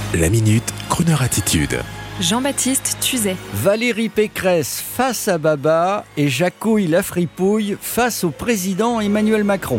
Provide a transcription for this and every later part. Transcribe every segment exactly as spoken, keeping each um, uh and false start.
La Minute, Kroneur Attitude. Jean-Baptiste Tuzet. Valérie Pécresse face à Baba et Jacouille la fripouille face au président Emmanuel Macron.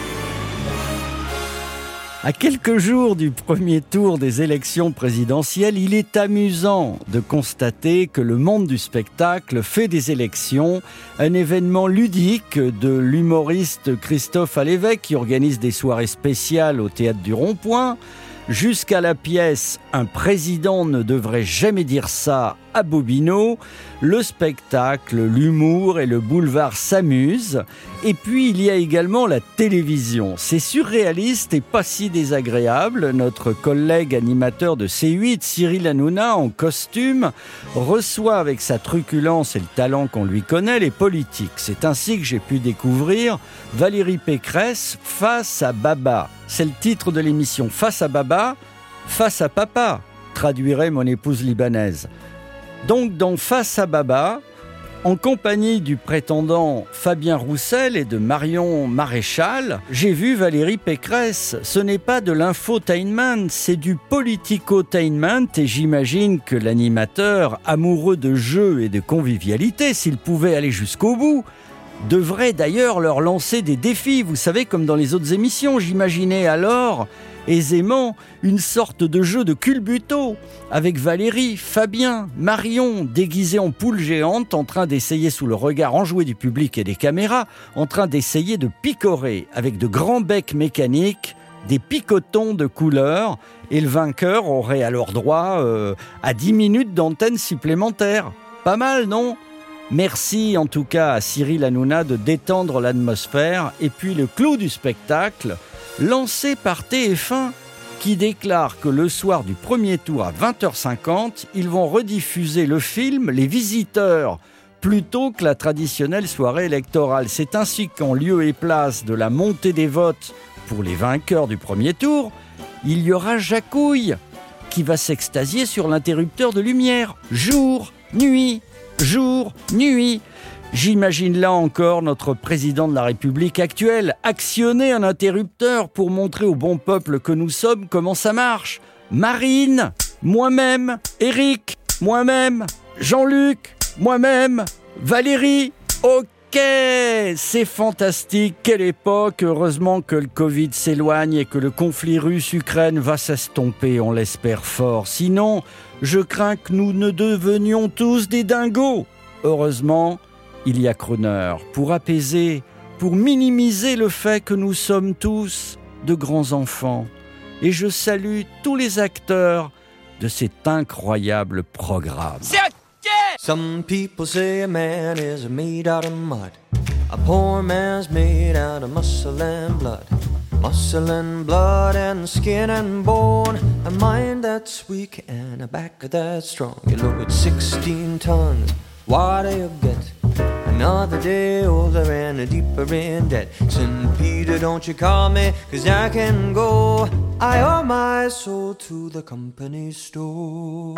À quelques jours du premier tour des élections présidentielles, il est amusant de constater que le monde du spectacle fait des élections un événement ludique de l'humoriste Christophe Alévêque qui organise des soirées spéciales au Théâtre du Rond-Point, jusqu'à la pièce « Un président ne devrait jamais dire ça » à Bobino, le spectacle, l'humour et le boulevard s'amusent. Et puis il y a également la télévision. C'est surréaliste et pas si désagréable. Notre collègue animateur de C huit, Cyril Hanouna, en costume, reçoit avec sa truculence et le talent qu'on lui connaît les politiques. C'est ainsi que j'ai pu découvrir Valérie Pécresse face à Baba. C'est le titre de l'émission. Face à Baba, face à papa, traduirait mon épouse libanaise. Donc dans Face à Baba, en compagnie du prétendant Fabien Roussel et de Marion Maréchal, j'ai vu Valérie Pécresse. Ce n'est pas de l'infotainment, c'est du politicotainment et j'imagine que l'animateur, amoureux de jeu et de convivialité, s'il pouvait aller jusqu'au bout, devrait d'ailleurs leur lancer des défis, vous savez, comme dans les autres émissions. J'imaginais alors aisément une sorte de jeu de culbuto avec Valérie, Fabien, Marion déguisés en poule géante en train d'essayer sous le regard enjoué du public et des caméras, en train d'essayer de picorer avec de grands becs mécaniques des picotons de couleur et le vainqueur aurait alors droit euh, à dix minutes d'antenne supplémentaire. Pas mal, non ? Merci en tout cas à Cyril Hanouna de détendre l'atmosphère et puis le clou du spectacle lancé par T F un qui déclare que le soir du premier tour à vingt heures cinquante, ils vont rediffuser le film Les Visiteurs plutôt que la traditionnelle soirée électorale. C'est ainsi qu'en lieu et place de la montée des votes pour les vainqueurs du premier tour, il y aura Jacouille qui va s'extasier sur l'interrupteur de lumière. Jour, nuit, jour, nuit. J'imagine là encore notre président de la République actuelle actionner un interrupteur pour montrer au bon peuple que nous sommes comment ça marche. Marine, moi-même, Eric, moi-même, Jean-Luc, moi-même, Valérie. Ok, c'est fantastique, quelle époque. Heureusement que le Covid s'éloigne et que le conflit russe-Ukraine va s'estomper, on l'espère fort. Sinon, je crains que nous ne devenions tous des dingos. Heureusement, il y a Kroneur pour apaiser, pour minimiser le fait que nous sommes tous de grands enfants. Et je salue tous les acteurs de cet incroyable programme. C'est OK! Some people say a man is made out of mud. A poor man's made out of muscle and blood. Muscle and blood and skin and bone. A mind that's weak and a back that's strong. You look at sixteen tons. What do you get? Another day older and a deeper in debt. Saint Peter, don't you call me, cause I can go. I owe my soul to the company store.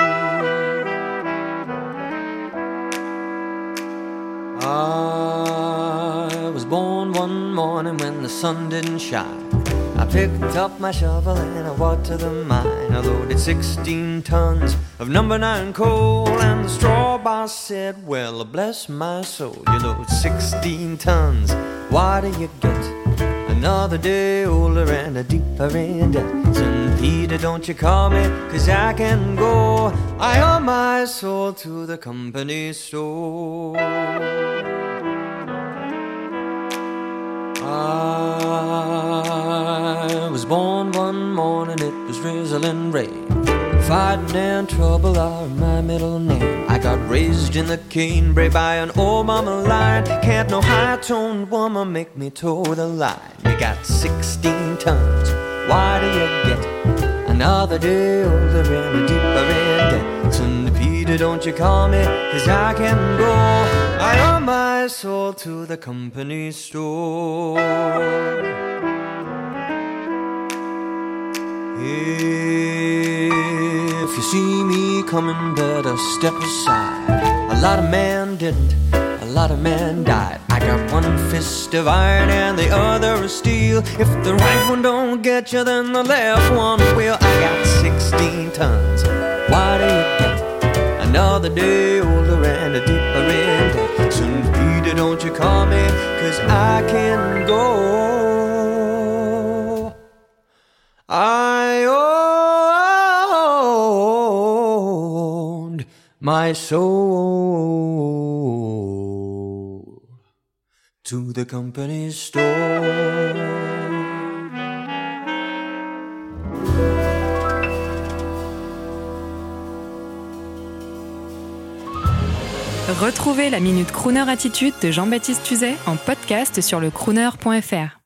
I was born one morning when the sun didn't shine. I picked up my shovel and I walked to the mine. I loaded sixteen tons of number nine coal, and the straw boss said, well, bless my soul, you load sixteen tons, what do you get? Another day older and a deeper in debt. Saint Peter, don't you call me, cause I can go. I owe my soul to the company store. I was born one morning, it was drizzling rain. Fighting and trouble are my middle name. I got raised in the canebrake by an old mama lion. Can't no high-toned woman make me toe the line. You got sixteen tons, why do you get? Another day older and a deeper in debt. Saint Peter, don't you call me, cause I can go. I owe my soul to the company store. If you see me coming, better step aside. A lot of men didn't, a lot of men died. I got one fist of iron and the other of steel. If the right one don't get you, then the left one will. I got sixteen tons, day older and deeper in debt. Soon, Peter, don't you call me, 'cause I can go. I owned my soul to the company store. Retrouvez la Minute Crooner Attitude de Jean-Baptiste Tuzet en podcast sur le crooner point f r.